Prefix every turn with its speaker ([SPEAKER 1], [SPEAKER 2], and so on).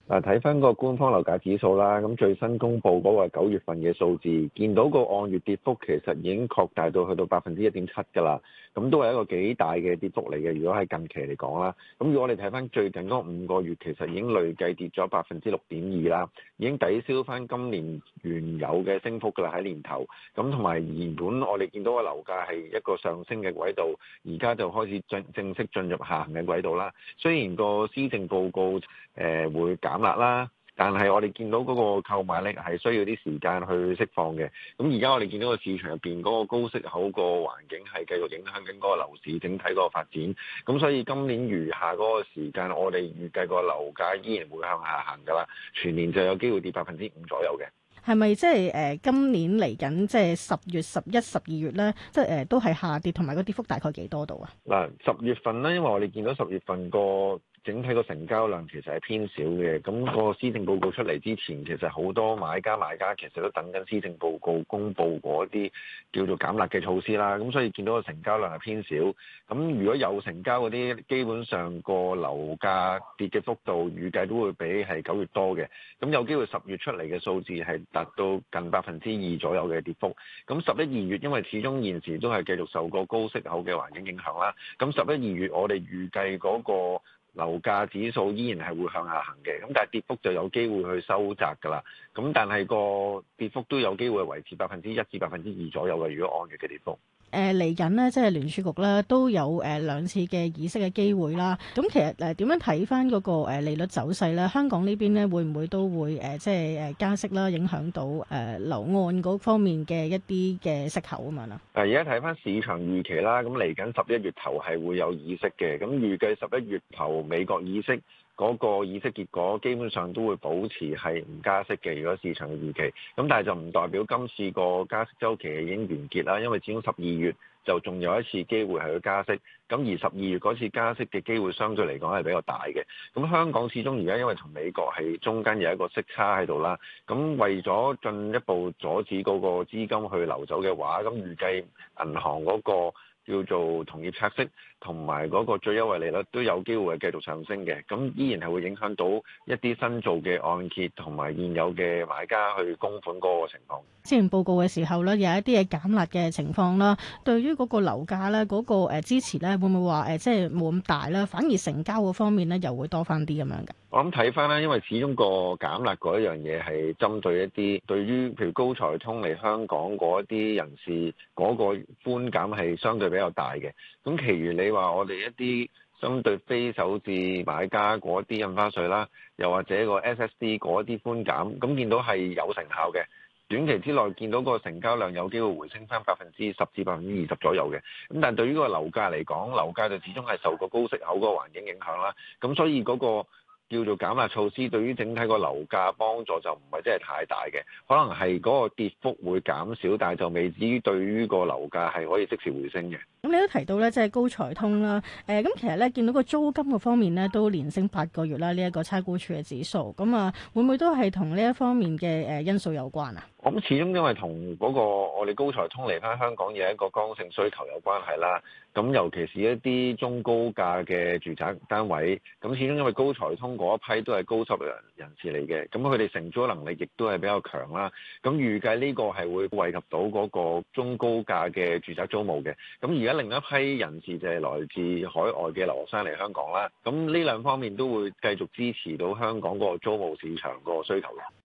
[SPEAKER 1] 嗱，睇翻個官方樓價指數啦，咁最新公布嗰個9月份嘅數字，見到個按月跌幅其實已經擴大到去到1.7%㗎啦，咁都係一個幾大嘅跌幅嚟嘅。如果喺近期嚟講啦，咁如果我哋睇翻最近嗰5個月，其實已經累計跌咗6.2%啦，已經抵消翻今年原有嘅升幅㗎啦喺年頭。咁同埋原本我哋見到個樓價係一個上升嘅軌道，而家就開始正式進入下行嘅軌道啦。雖然個施政報告會減辣啦，但係我哋見到嗰個購買力係需要啲時間去釋放嘅。咁而家我哋見到個市場入邊嗰個高息口個環境係繼續影響緊嗰個樓市整體嗰個發展。咁所以今年餘下嗰個時間，我哋預計個樓價依然會向下行㗎啦。全年就有機會跌5%左右嘅。
[SPEAKER 2] 係咪即係今年嚟緊即係10月、11、12月咧，即係都係下跌，同埋個跌幅大概幾多度啊？
[SPEAKER 1] 嗱，10月份咧，因為我哋見到10月份個整體個成交量其實係偏少嘅，咁個施政報告出嚟之前，其實好多買家賣家其實都等緊施政報告公布嗰啲叫做減辣嘅措施啦，咁所以見到個成交量係偏少。咁如果有成交嗰啲，基本上個樓價跌嘅幅度預計都會比係9月多嘅。咁有機會10月出嚟嘅數字係達到近2%左右嘅跌幅。咁11、2月因為始終現時都係繼續受個高息口嘅環境影響啦，咁11、2月我哋預計嗰個樓價指數依然係會向下行嘅，咁但係跌幅就有機會去收窄㗎啦。咁但係個跌幅都有機會維持1%至2%左右嘅，如果按月嘅跌幅。
[SPEAKER 2] 嚟緊呢，即係聯儲局咧都有2次嘅議息嘅機會啦。咁其實點樣睇翻嗰個利率走勢咧？香港呢邊咧會唔會都會即係加息啦，影響到樓按嗰方面嘅一啲嘅息口啊嘛啦？
[SPEAKER 1] 而家睇翻市場預期啦，咁嚟緊11月頭係會有議息嘅，咁預計11月頭美國議息嗰個議息結果基本上都會保持係唔加息嘅，如果市場嘅預期。咁但係就唔代表今次個加息週期已經完結啦，因為始終12月就仲有一次機會係去加息。咁而12月嗰次加息嘅機會相對嚟講係比較大嘅。咁香港始終而家因為同美國係中間有一個息差喺度啦，咁為咗進一步阻止嗰個資金去流走嘅話，咁預計銀行嗰個叫做同業拆息同埋嗰個最優惠利率都有機會係繼續上升嘅，咁依然係會影響到一啲新造嘅按揭同埋現有嘅買家去供款嗰個情況。
[SPEAKER 2] 之前報告嘅時候咧，有一啲嘅減辣嘅情況啦，對於嗰個樓價咧嗰個支持咧，會唔會話即係冇咁大啦？反而成交嗰方面咧又會多翻啲咁樣嘅？
[SPEAKER 1] 我諗睇翻啦，因為始終個減辣嗰一樣嘢係針對一啲對於譬如高才通嚟香港嗰一啲人士嗰個寬減係相對比較大嘅。咁其餘你話我哋一啲針對非首置買家嗰啲印花稅啦，又或者個 SSD 嗰啲寬減，咁見到係有成效嘅。短期之內見到個成交量有機會回升翻10%至20%左右嘅。咁但係對於個樓價嚟講，樓價就始終係受個高息口個環境影響啦。咁所以嗰個叫做減壓措施對於整體個樓價幫助就唔係真係太大嘅，可能係嗰個跌幅會減少，但係就未至於對於個樓價係可以即時回升嘅。
[SPEAKER 2] 咁你都提到咧，即係高才通啦，咁其實咧見到個租金個方面咧都連升8個月啦，呢一個差估署嘅指數，咁啊會唔會都係同呢一方面嘅因素有關啊？
[SPEAKER 1] 我諗始終因為同嗰個我哋高才通嚟翻香港有一個剛性需求有關係啦。咁尤其是一啲中高價嘅住宅單位，咁始終因為高才通嗰一批都係高收入人士嚟嘅，咁佢哋承租能力亦都係比較強啦。咁預計呢個係會惠及到嗰個中高價嘅住宅租務嘅。咁而家另一批人士就係來自海外嘅留學生嚟香港啦。咁呢兩方面都會繼續支持到香港嗰個租務市場個需求嘅。